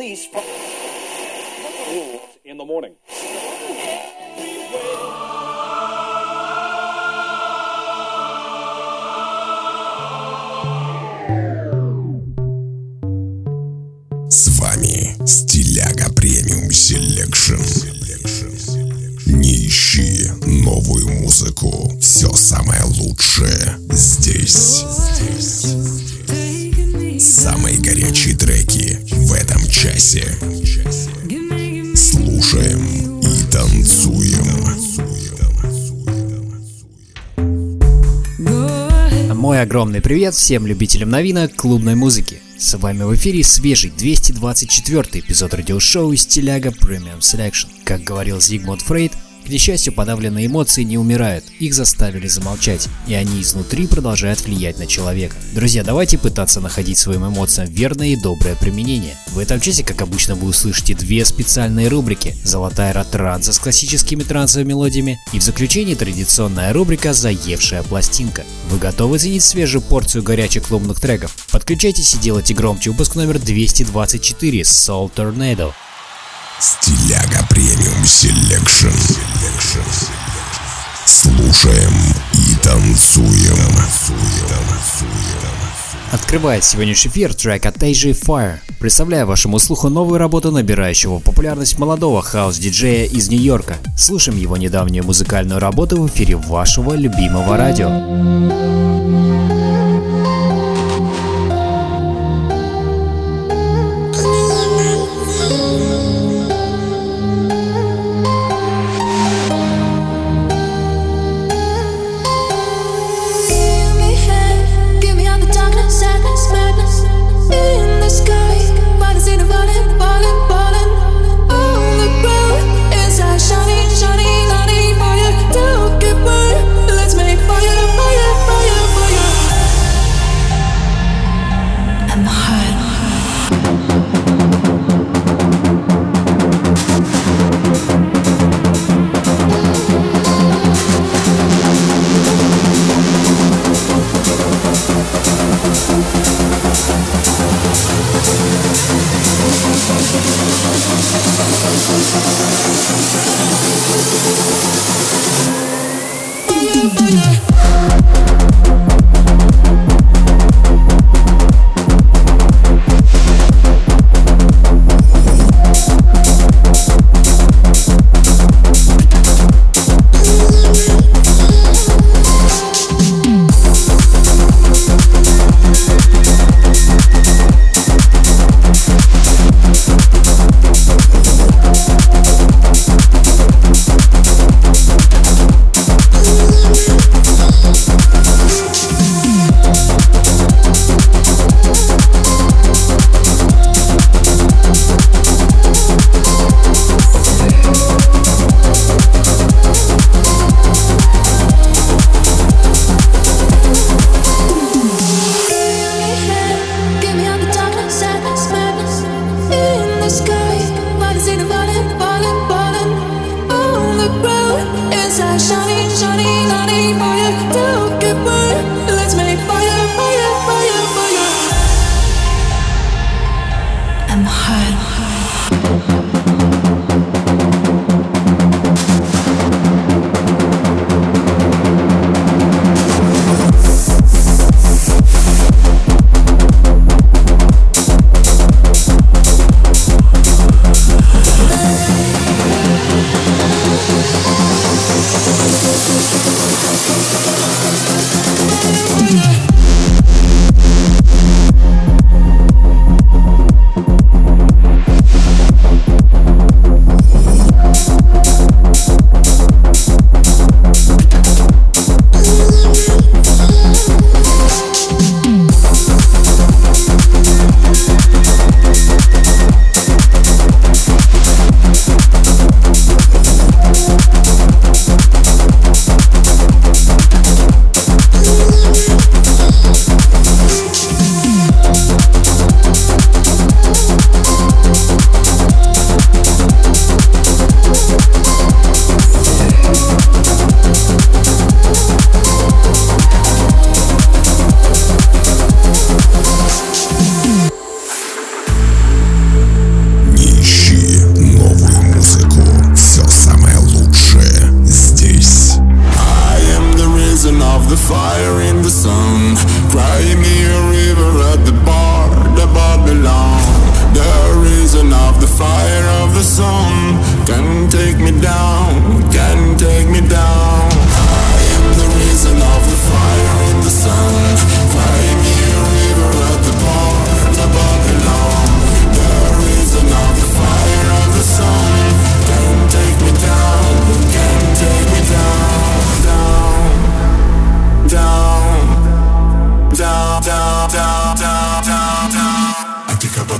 release from in the morning. С вами Стиляга Премиум Селекшн. Не ищи новую музыку, все самое лучшее здесь. Самые горячие треки в этом часе. Слушаем и танцуем. Мой огромный привет всем любителям новинок клубной музыки. С вами в эфире свежий 224 эпизод радиошоу Стиляга Премиум Селекшн. Как говорил Зигмунд Фрейд, к несчастью, подавленные эмоции не умирают, их заставили замолчать, и они изнутри продолжают влиять на человека. Друзья, давайте пытаться находить своим эмоциям верное и доброе применение. В этом часе, как обычно, вы услышите две специальные рубрики: «Золотая эра транса» с классическими трансовыми мелодиями, и в заключении традиционная рубрика «Заевшая пластинка». Вы готовы ценить свежую порцию горячих клубных треков? Подключайтесь и делайте громче выпуск номер 224 Soul Tornado. Стиляга Премиум Селекшн. Слушаем и танцуем. Открывает сегодняшний эфир трек от AJ Fire. Представляю вашему слуху новую работу набирающего популярность молодого хаус-диджея из Нью-Йорка. Слушаем его недавнюю музыкальную работу в эфире вашего любимого радио. Shining, shining, lighting fire. Don't get burned. Let's make fire, fire, fire. Cry me a river at the bar, the Babylon. The reason of the fire of the sun can take me down, can take me down. I am the reason of the fire in the sun. Cry me a river at the bar, the Babylon. The reason of the fire of the sun can take me down, can take me down, down, down, down, down, down, down, down, down. I think about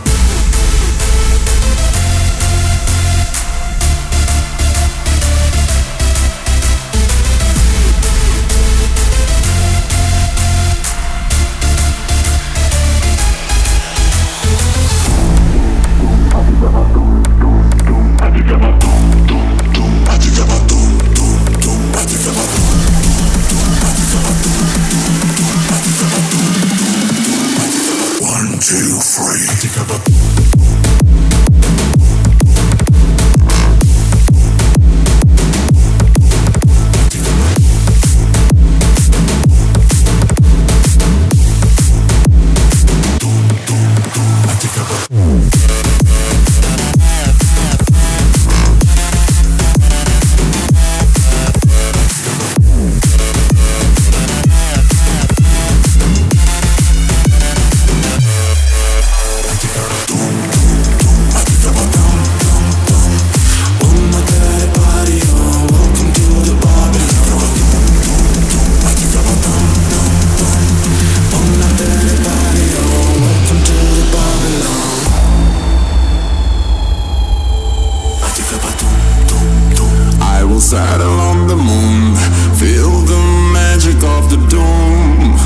saddle on the moon, feel the magic of the doom.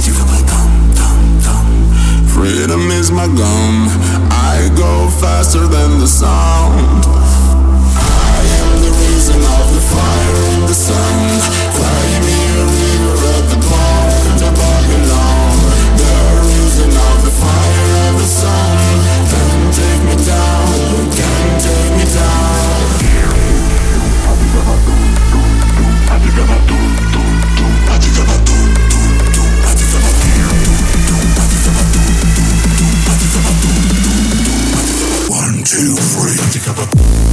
Freedom is my gun, I go faster than the sound. I am the reason of the fire in the sun. Cry me a river at the bar, the Babylon. The reason of the fire of the sun can take me down, can take me down. One, two, three.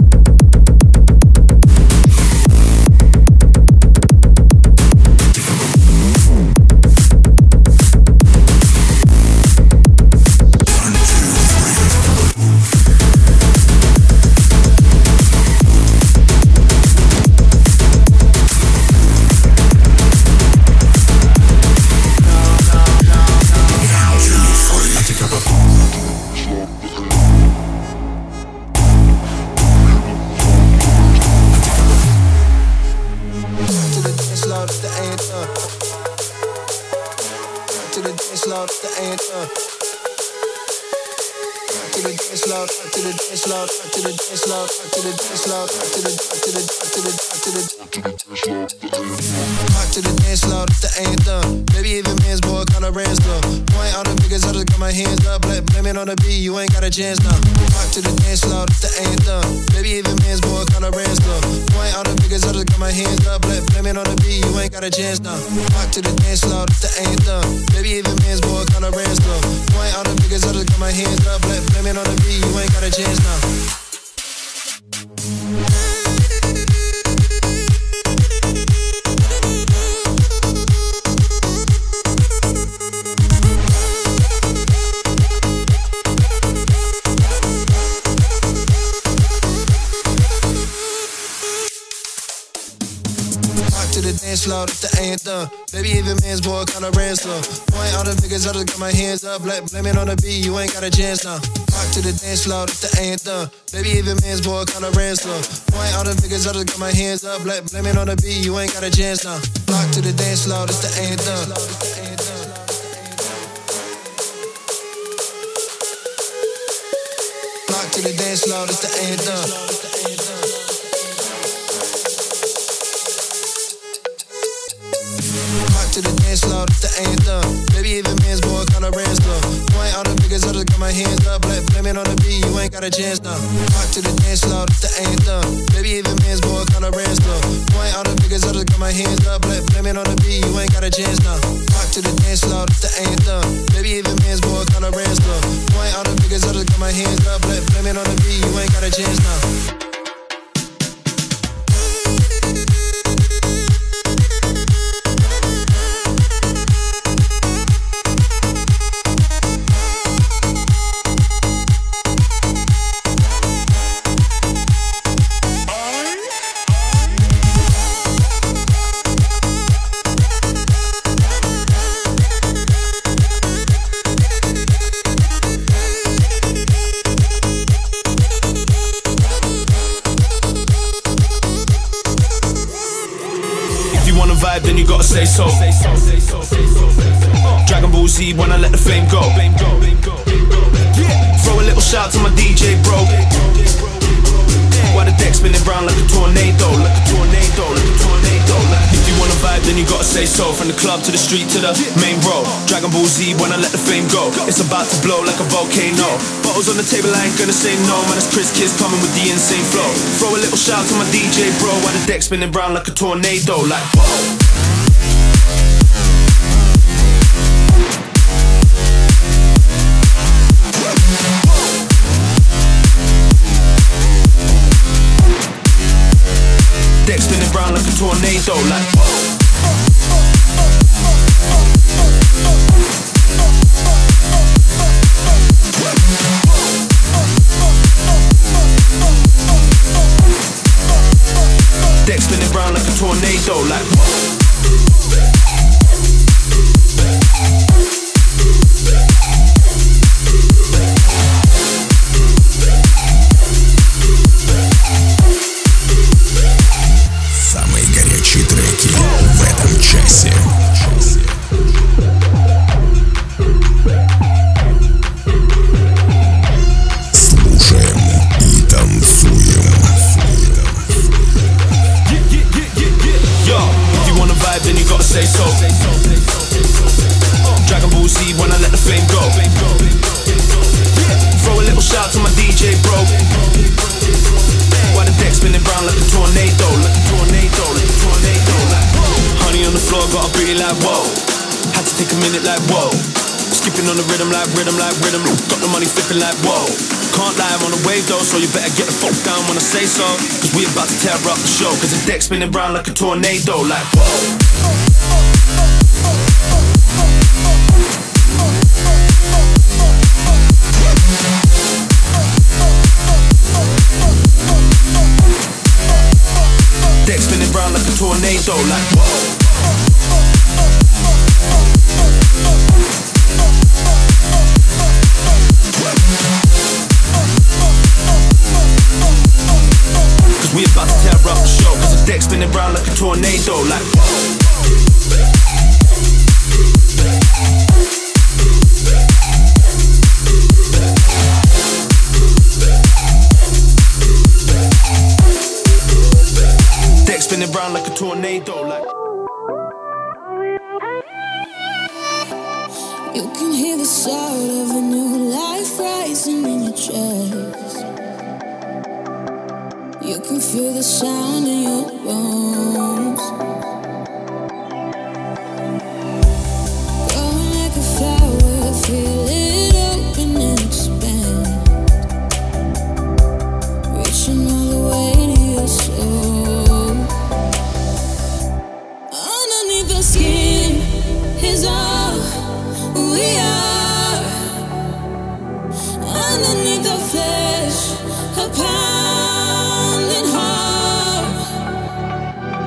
Rock to the dance floor, that's the anthem. Maybe even men's boy kinda ransom. Point all the figures, I just got my hands up. Blame it on the beat, you ain't got a chance now. Rock to the dance floor, that's the anthem. Maybe even men's boy kinda ransom. Point all the figures, I just got my hands up. Blame it on the beat, you ain't got a chance now. Rock to the dance floor, that's the anthem. Maybe even men's boy kinda ransom. Point all the figures, I just got my hands up. Blame it on the beat, you ain't got a chance now. Dance floor, that's the anthem. Maybe even men's boy kinda ransom. Point all the figures, I just got my hands up. Blame it on the beat, you ain't got a chance now. Rock to the dance floor, that's the anthem. Maybe even men's boy kinda ransom. Point all the figures, I just got my hands up. Blame it on the beat, you ain't got a chance now. Rock to the dance floor, that's the anthem. Rock to the dance floor, that's the anthem. To the dance floor, that's the anthem. Maybe even men's boy kinda ransom. Point all the figures, I just got my hands up. Blame it on the beat, you ain't got a chance now. Rock to the dance floor, that's the anthem. Maybe even men's boy kinda ransom. Point all the figures, I just got my hands up. Blame it on the beat, you ain't got a chance now. Rock to the dance floor, that's the anthem. Baby, even man's boy, kinda ransom. Point all the figures, I just got my hands up. Blame it on the beat, you ain't got a chance now. Then you gotta say so. Dragon Ball Z when I let the flame go. Throw a little shout to my DJ bro. While the deck spinning round like a tornado, like a tornado, like a tornado. If you wanna vibe, then you gotta say so. From the club to the street to the main road. Dragon Ball Z when I let the flame go. It's about to blow like a volcano. Bottles on the table, I ain't gonna say no. Man, it's Chris Kids coming with the insane flow. Throw a little shout to my DJ bro. While the deck spinning round like a tornado, like whoa. Deck spinning round like a tornado, like whoa. Deck spinning round like a tornado, like whoa. Треки в этом часе. Слушаем и танцуем. Yo, if you wanna vibe, then you gotta say so. Dragon Ball Z when I let the flame go. Throw a little shout to my DJ bro. While the deck spinning round like a tornado, like a tornado, like a tornado, like honey on the floor, got a booty like whoa. Had to take a minute like whoa. Skipping on the rhythm like rhythm like rhythm. Got the money flipping like whoa. Can't lie, I'm on a wave though, so you better get the fuck down when I say so. Cause we about to tear up the show. Cause the deck spinning round like a tornado, like whoa. Deck spinning round like a tornado, like whoa. Cause we about to tear up the show. Cause the deck spinning round like a tornado, like whoa. Spinning round like a tornado, like you can hear the sound of a new life rising in your chest. You can feel the sound in your bones. Growing like a flower, feel it open and expand, reaching all the way to your soul. Skin is all we are. Underneath the flesh, a pounding heart.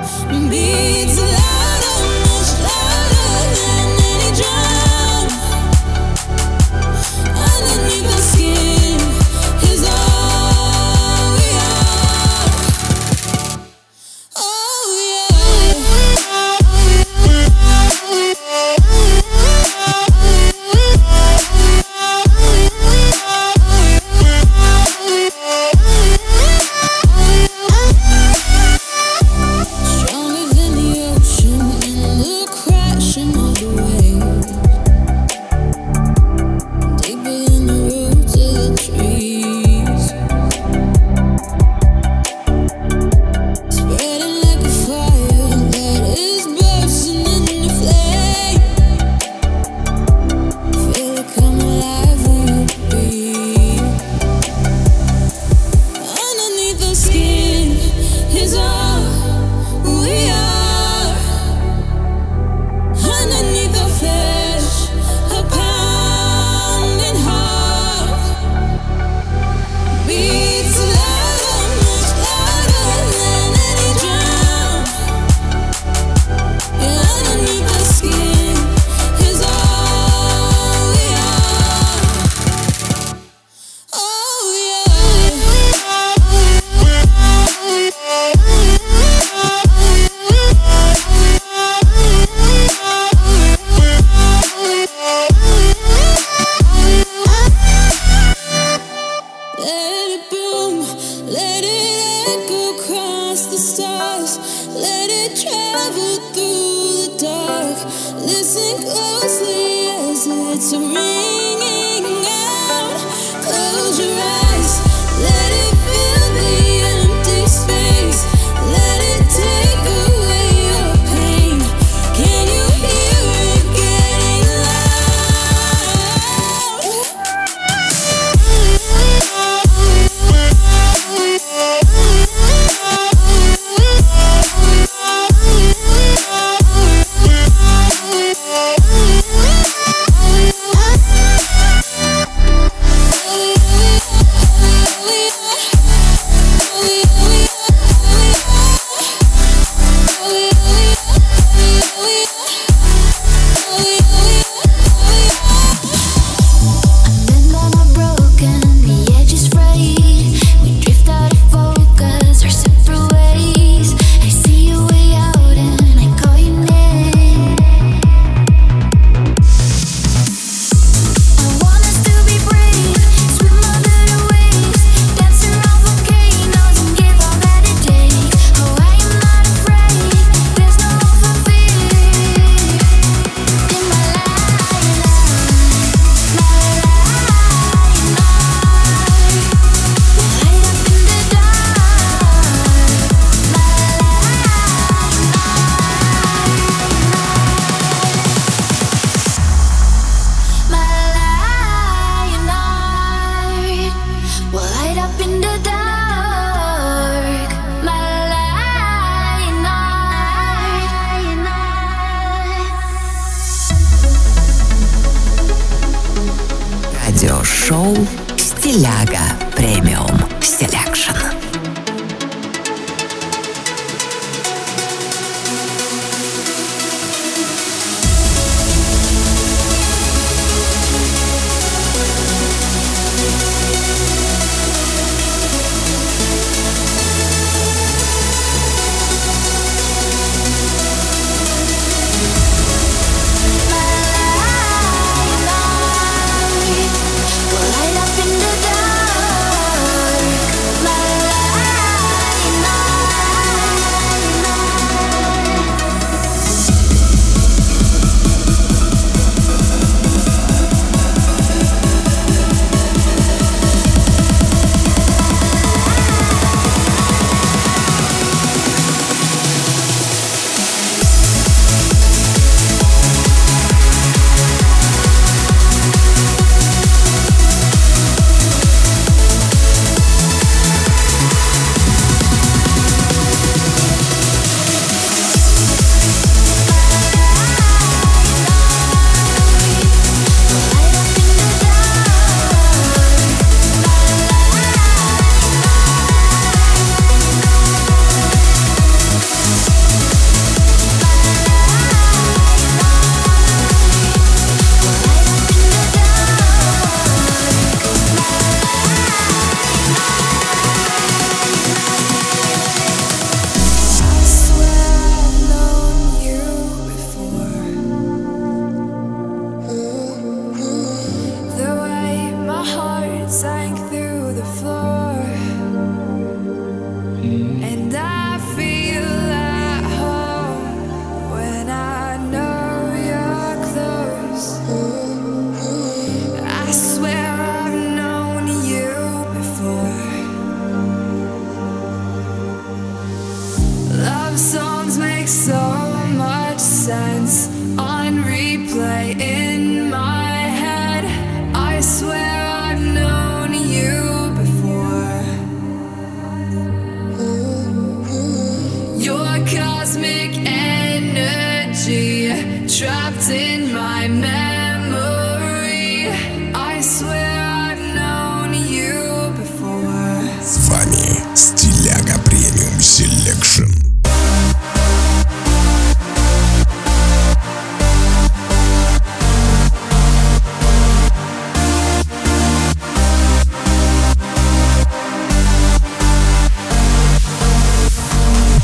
Радиошоу «Стиляга Премиум Селекшн».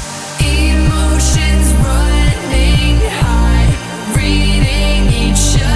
Emotions running high, reading each other.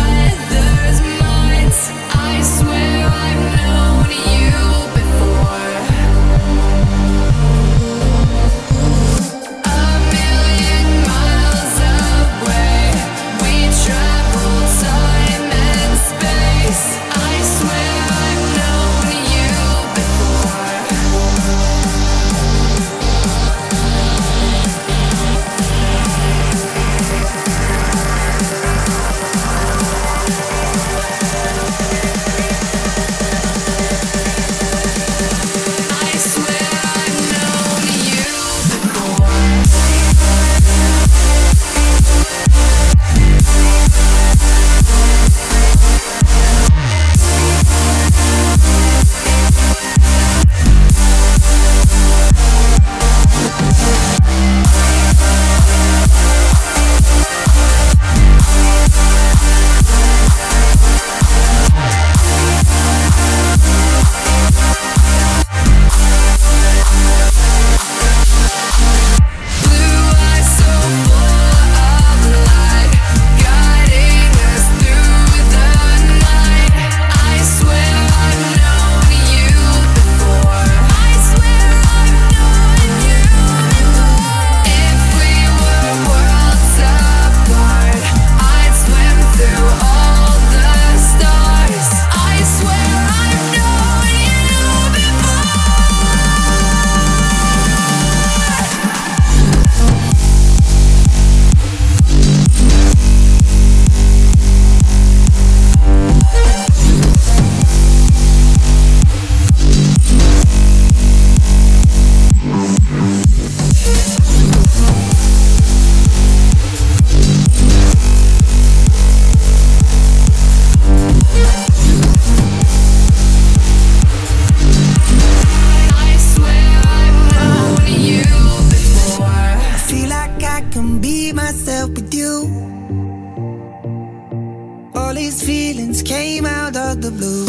All these feelings came out of the blue.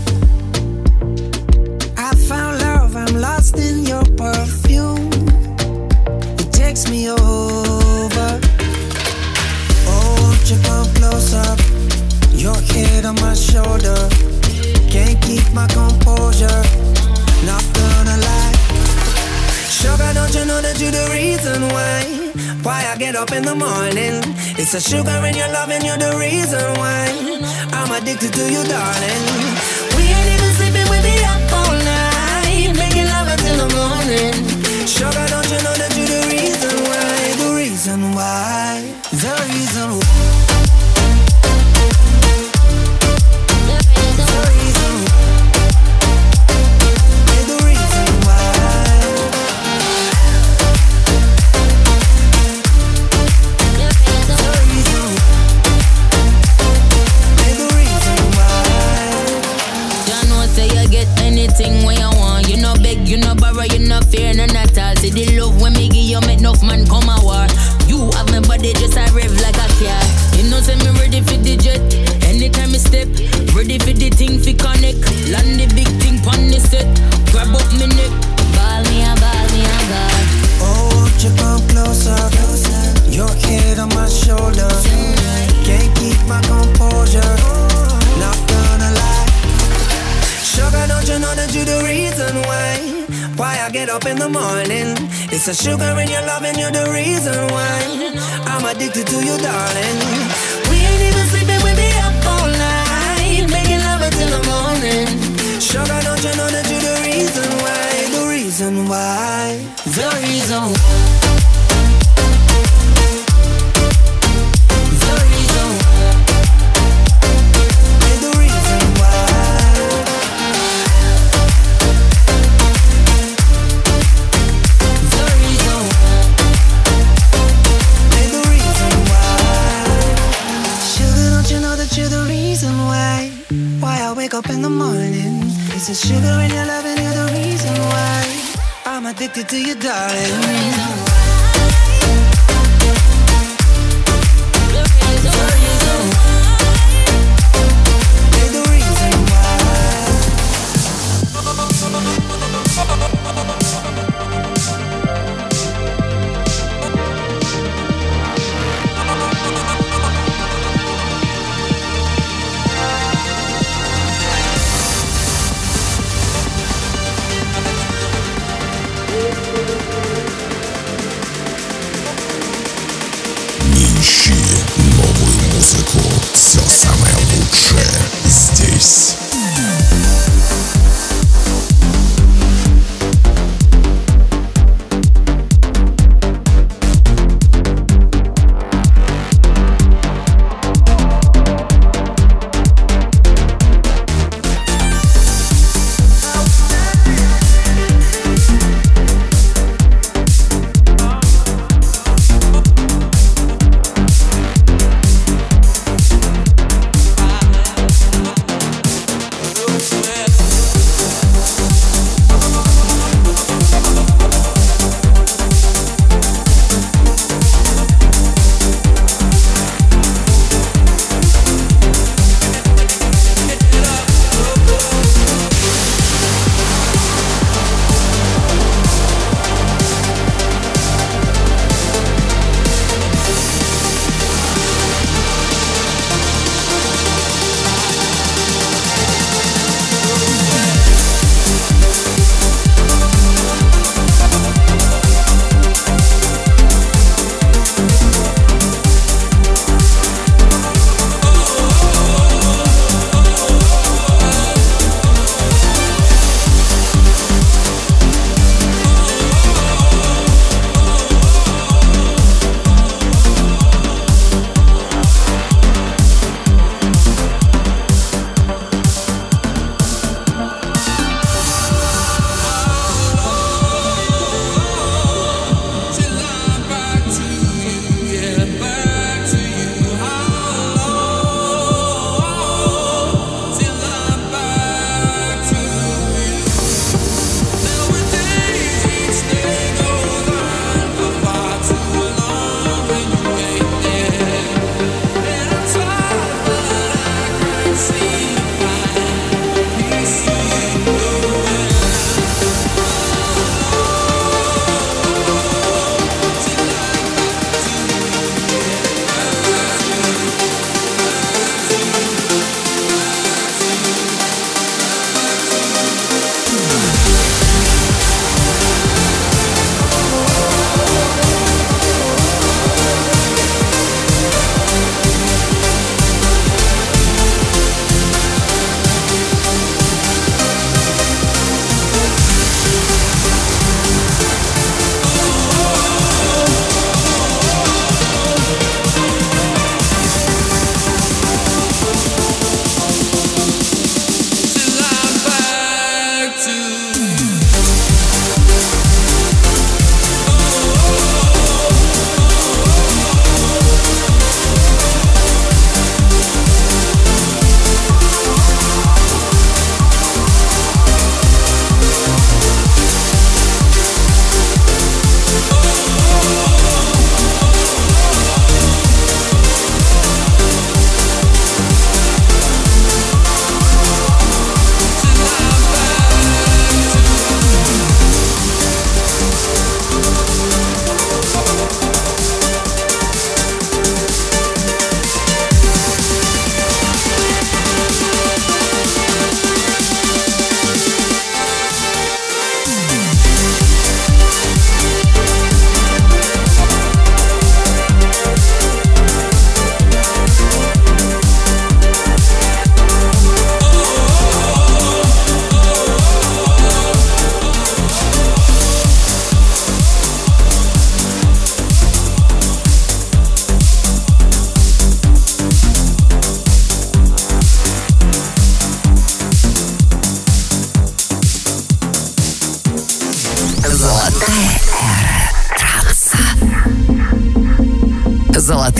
I found love, I'm lost in your perfume. It takes me over. Oh, won't you come closer? Your head on my shoulder. Can't keep my composure. Not gonna lie. Sugar, don't you know that you're the reason why I get up in the morning? It's the sugar in your love and you're the reason why I'm addicted to you, darling. We ain't even sleeping, we be up all night, making love until the morning. Sugar, don't you know that you're the reason why? The reason why. The reason why. When you want, you no beg, you no borrow, you no fear, none at all. See the love when me give you, make enough man come a war. You have my body just a rev like a car. You know say me ready for the jet. Anytime me step, ready for the thing fi connect. Land the big thing pon the set. Grab up me neck, ball me a God. Oh, won't you come closer? Your head on my shoulder. Can't keep my composure. Not gonna lie. Sugar, don't you know that you're the reason why I get up in the morning? It's the sugar in your love and you're the reason why I'm addicted to you, darling. We ain't even sleeping, we be up all night, making love until the morning. Sugar, don't you know that you're the reason why? The reason why. The reason why. Up in the morning, it's the sugar in your love and you're the reason why I'm addicted to you, darling. Все самое лучшее здесь.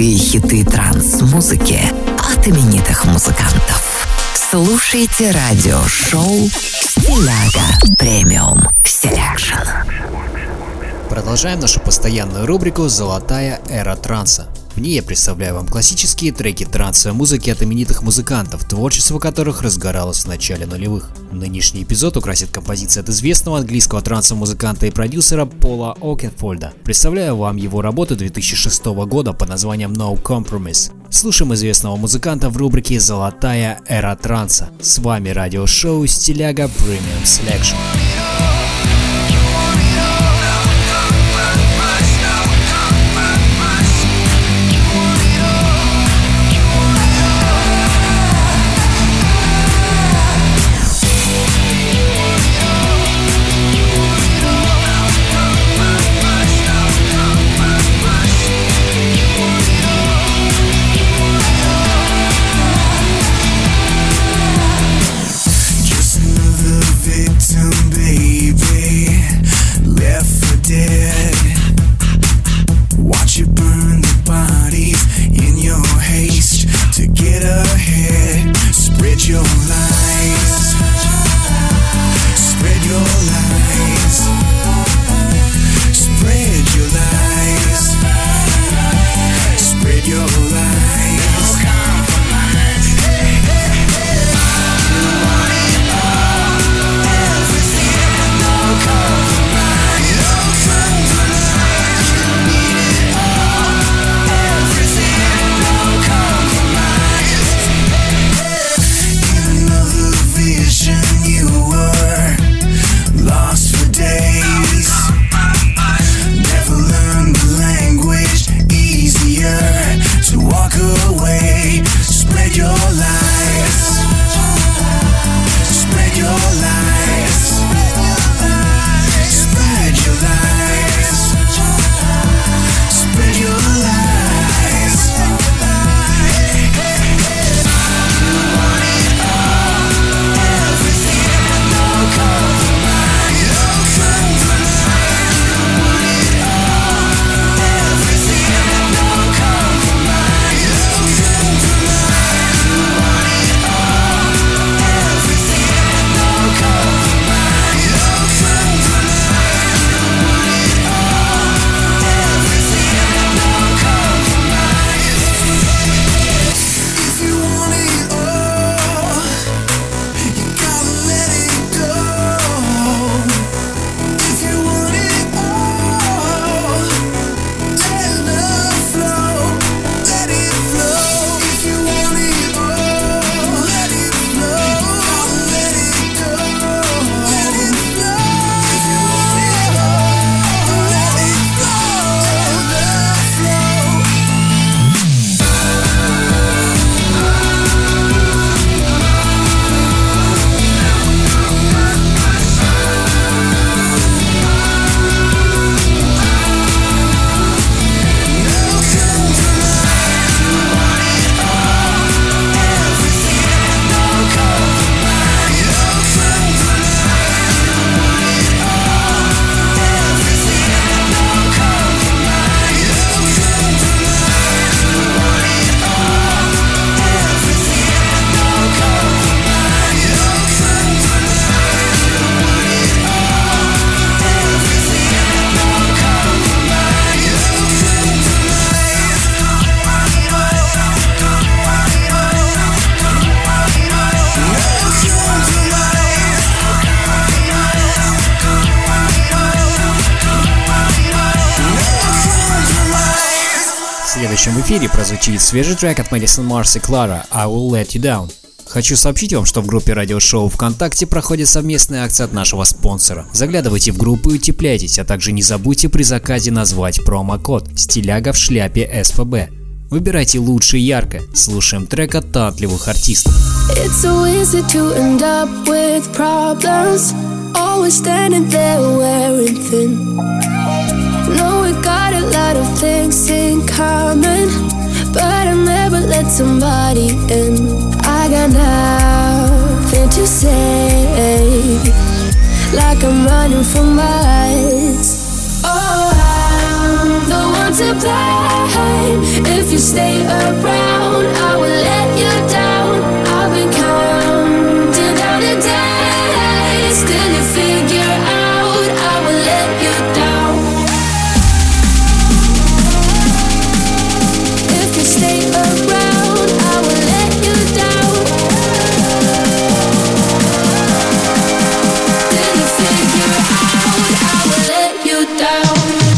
Лучшие хиты транс-музыки от именитых музыкантов. Слушайте радиошоу «Стиляга Премиум Селекшн». Продолжаем нашу постоянную рубрику «Золотая эра транса». В ней я представляю вам классические треки трансовой музыки от именитых музыкантов, творчество которых разгоралось в начале нулевых. Нынешний эпизод украсит композиция от известного английского трансового музыканта и продюсера Пола Окенфольда. Представляю вам его работу 2006 года под названием No Compromise. Слушаем известного музыканта в рубрике «Золотая эра транса». С вами радиошоу «Стиляга Премиум Селекшн». В следующем в эфире прозвучит свежий трек от Madison Mars и Clara «I Will Let You Down». Хочу сообщить вам, что в группе радиошоу ВКонтакте проходит совместная акция от нашего спонсора. Заглядывайте в группу и утепляйтесь, а также не забудьте при заказе назвать промокод «Стиляга в шляпе СФБ». Выбирайте лучше и ярко. Слушаем трек от талантливых артистов. It's so easy to end up with problems. Always standing there wearing thin. No, we got a lot of things in common, but I never let somebody in. I got nothing to say, like I'm running for miles. Oh, I'm the one to blame if you stay around, I will let you down. I've been counting down the days till you figure out I will let you down. If you stay around, I will let you down. Till you figure out I will let you down.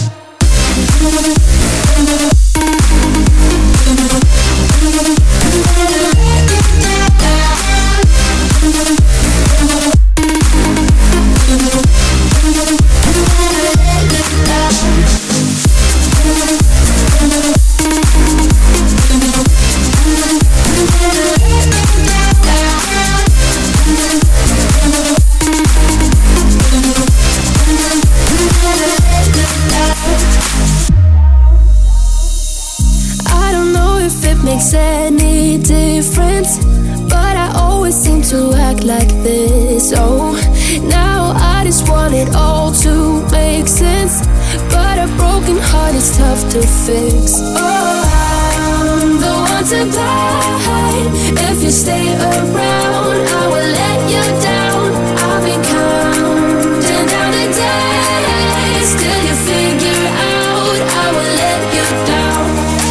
Makes any difference, but I always seem to act like this. Oh, now I just want it all to make sense, but a broken heart is tough to fix. Oh, I'm the one to blame. If you stay around, I will let you down. I've been counting down the days till you figure out I will let you down.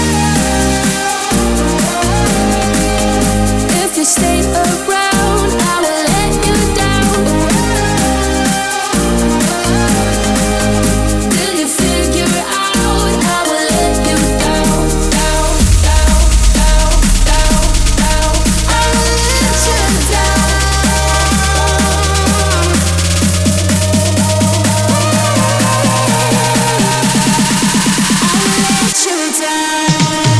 Stay around, I will let you down. Till you figure out I will let you down, down, down, down, down, down. I will let you down. I will let you down.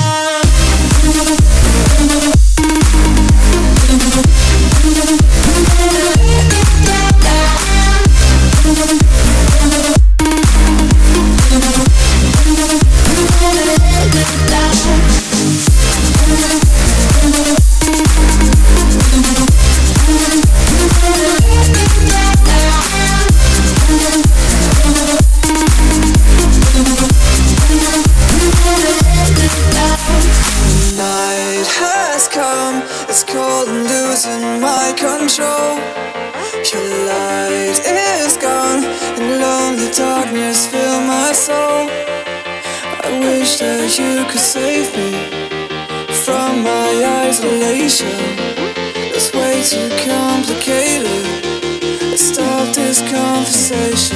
It's cold and losing my control. Your light is gone and lonely darkness fill my soul. I wish that you could save me from my isolation. It's way too complicated. Let's stop this conversation.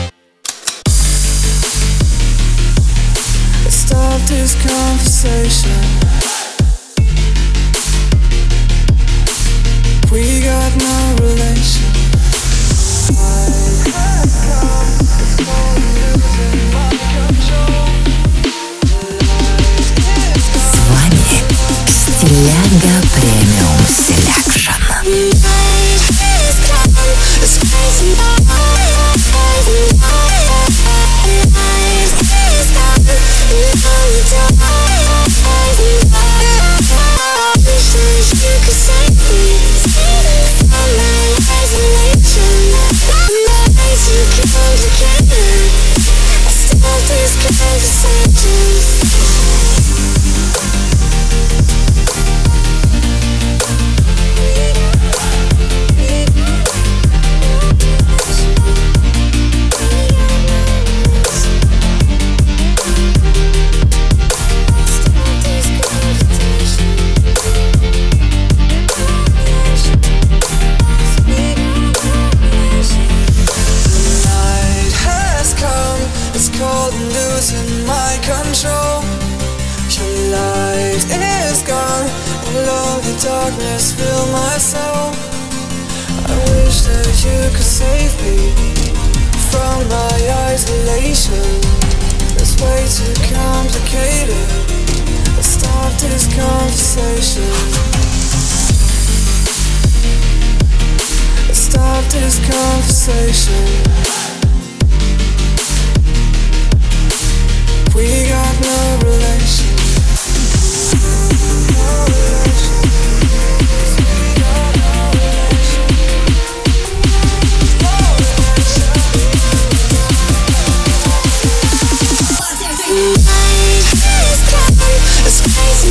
Let's stop this conversation. We got no relation. С вами Стиляга Премиум Селекшн. Darkness fill my soul. I wish that you could save me from my isolation. It's way too complicated. Let's stop this conversation. Let's stop this conversation. We got no relation. It's crazy.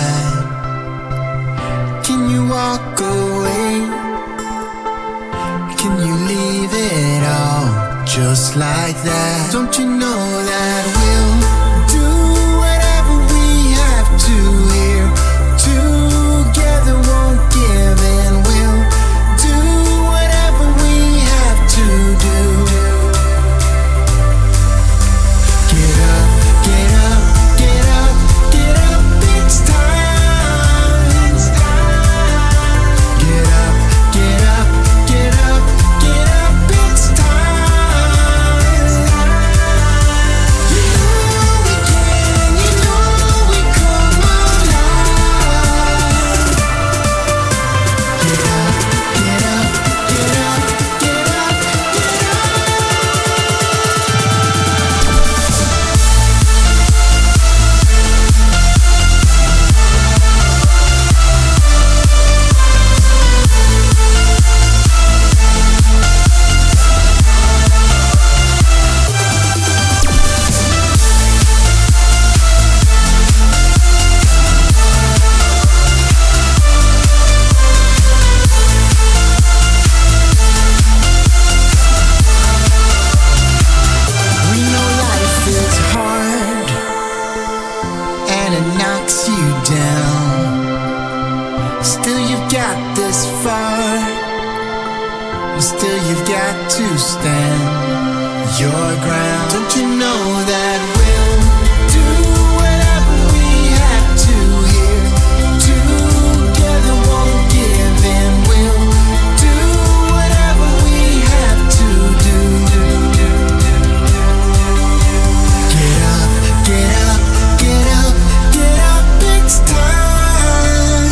side? Can you walk away? Can you leave it all just like that? Don't you know that we'll do whatever we have to here? Together won't give in. We'll do whatever we have to do. Get up, get up, get up, get up, it's time. Get up, get up, get up, get up, it's time. You know we can, you know we come alive. Get up, get up, get up, get up, get up. We know life is hard and it knocks you down. Still you've got this far, and still you've got to stand your ground. Don't you know that we'll do whatever we have to here? Together won't give in. We'll do whatever we have to do. Get up, get up, get up, get up, it's time.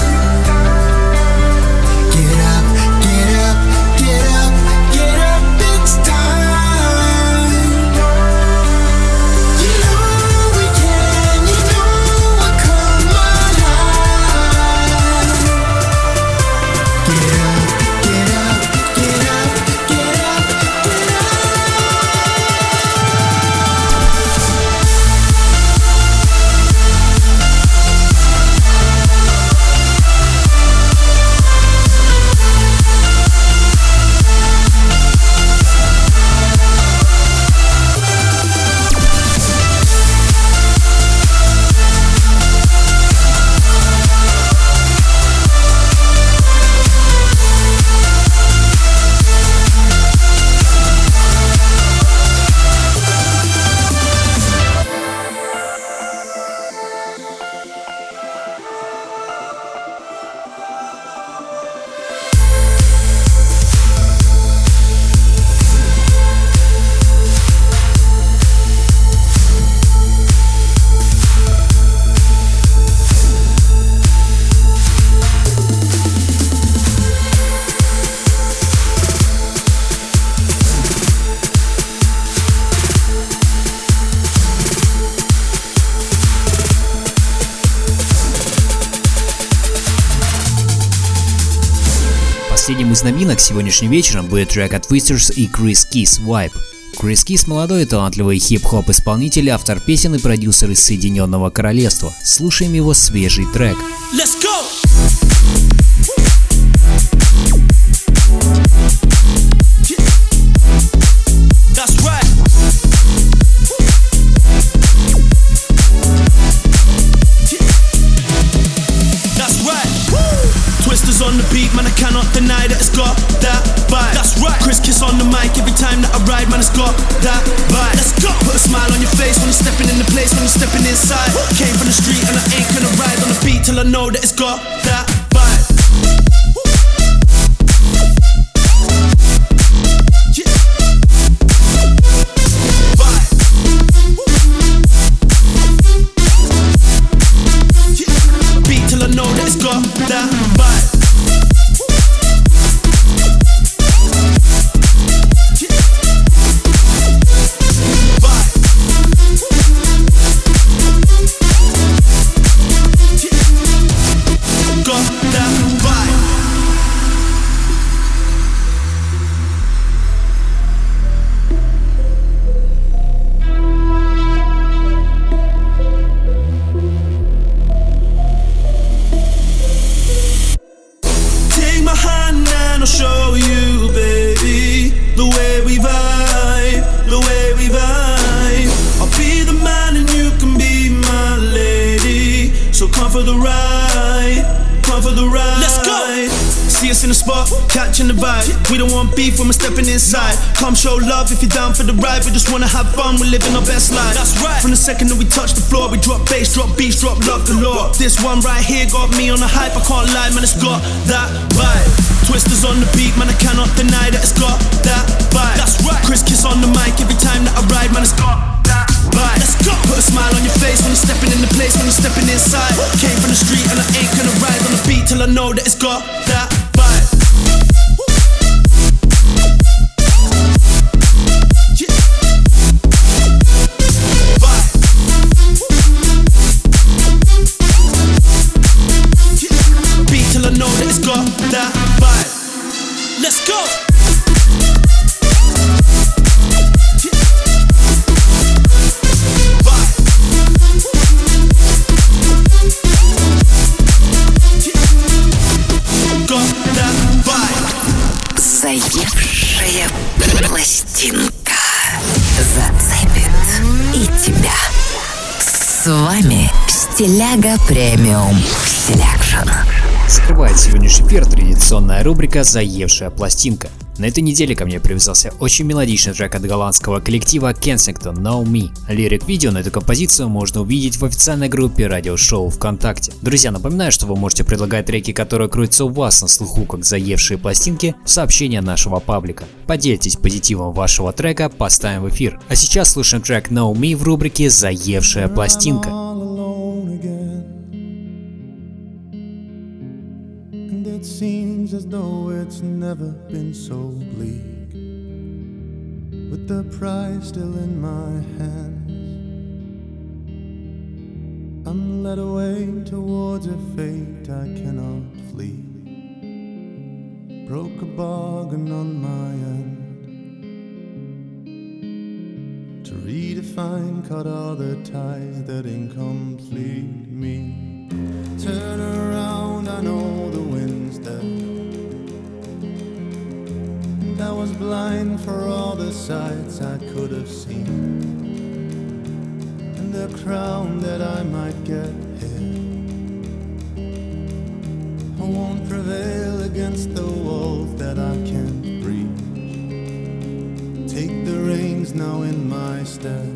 Get up, get up, get up, get up, it's time. You know we can, you know we'll come alive. Get up, get up, get up, get up, get up. Последним из новинок сегодняшним вечером будет трек от Twisters и Chris Kiss Vibe. Chris Kiss – молодой и талантливый хип-хоп исполнитель, автор песен и продюсер из Соединенного Королевства. Слушаем его свежий трек. Let's go! That's right. That's right. Twisters on the beat, man, I cannot deny that it's got that vibe. That's right. Chris Kiss on the mic every time that I ride, man, it's got that vibe. Let's go. Put a smile on your face when you're stepping in the place, when you're stepping inside. Came from the street and I ain't gonna ride on the beat till I know that it's got that vibe. Yeah. Vibe. Yeah. Beat till I know that it's got that vibe. Come for the ride, come for the ride. Let's go. See us in the spot, catching the vibe. We don't want beef when we're stepping inside. Come show love if you're down for the ride. We just wanna have fun, we're living our best life. That's right. From the second that we touch the floor, we drop bass, drop beats, drop love galore. This one right here got me on the hype. I can't lie, man, it's got that vibe. Twisters on the beat, man, I cannot deny that it's got that vibe. That's right. Chris Kiss on the mic every time that I ride, man, it's got that vibe. Let's go. Put a smile on your face when you're stepping in the place, when you're stepping inside. Came from the street and I ain't gonna ride on the beat till I know that it's got that vibe. Till I know that it's got that vibe. Let's go. Got that vibe. Заевшая пластинка зацепит и тебя. С вами Стиляга Премиум Селекшн. Скрывает сегодняшний эфир традиционная рубрика «Заевшая пластинка». На этой неделе ко мне привязался очень мелодичный трек от голландского коллектива Kensington Know Me. Лирик-видео на эту композицию можно увидеть в официальной группе радиошоу ВКонтакте. Друзья, напоминаю, что вы можете предлагать треки, которые крутятся у вас на слуху как заевшие пластинки, в сообщения нашего паблика. Поделитесь позитивом вашего трека, поставим в эфир. А сейчас слушаем трек Know Me в рубрике «Заевшая пластинка». It seems as though it's never been so bleak, with the prize still in my hands. I'm led away towards a fate I cannot flee. Broke a bargain on my end. To redefine, cut all the ties that incomplete me. Turn around, I know the wind's dead. And I was blind for all the sights I could have seen, and the crown that I might get here. I won't prevail against the walls that I can't breach. Take the reins now in my stead.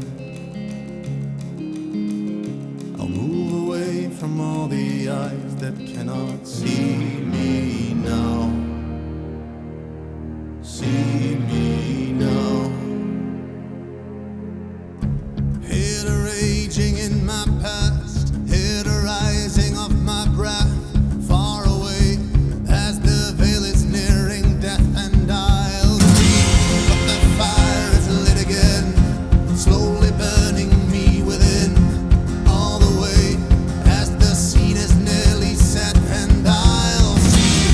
From all the eyes that cannot see me now. See me now. Hear the raging in my past, hear the rising of my breath. Far away as the veil is nearing death, and I'll breathe, but the fire is lit again, slowly burning me within. All the way as the scene is nearly set, and I'll see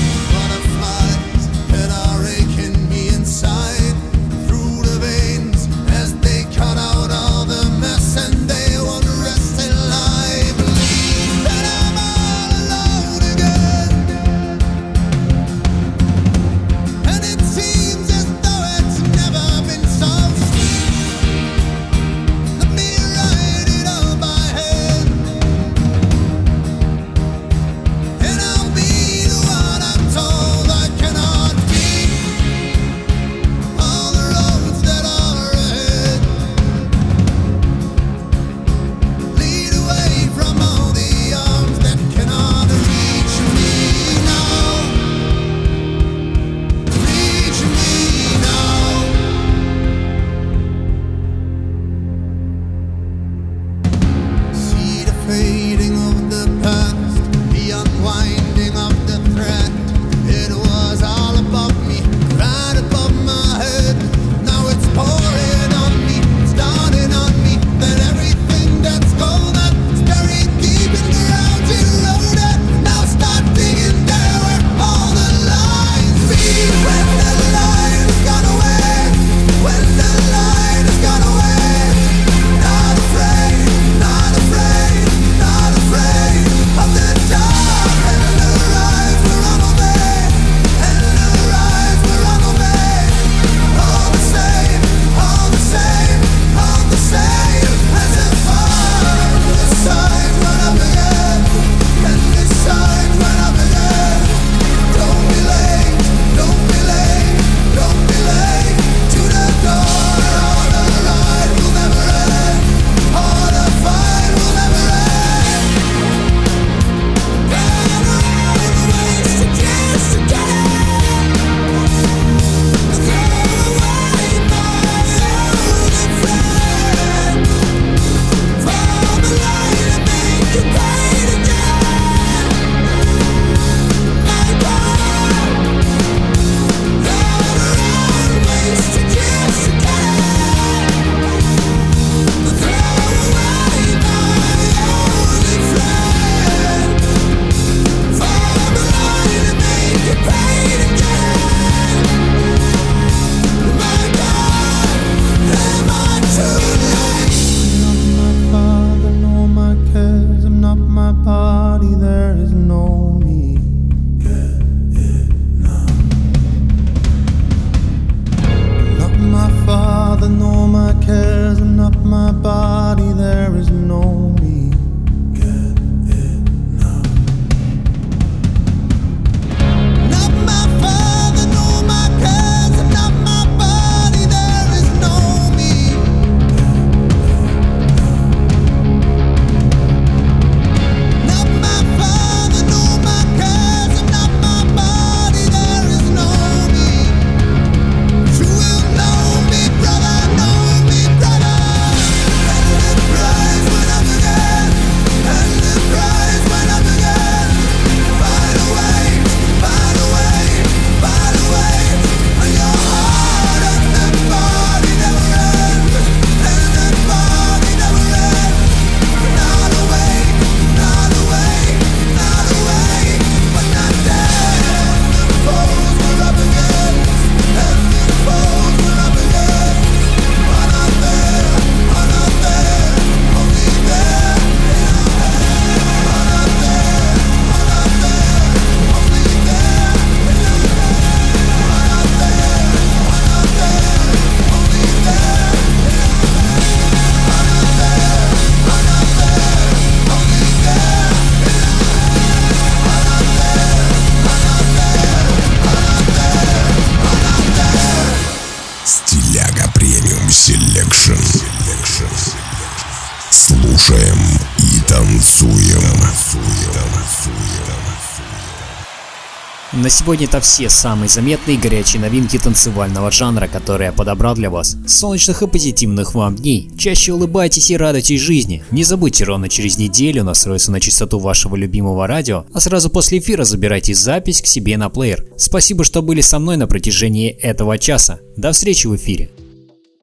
На сегодня это все самые заметные и горячие новинки танцевального жанра, которые я подобрал для вас. Солнечных и позитивных вам дней. Чаще улыбайтесь и радуйтесь жизни. Не забудьте ровно через неделю настроиться на частоту вашего любимого радио, а сразу после эфира забирайте запись к себе на плеер. Спасибо, что были со мной на протяжении этого часа. До встречи в эфире.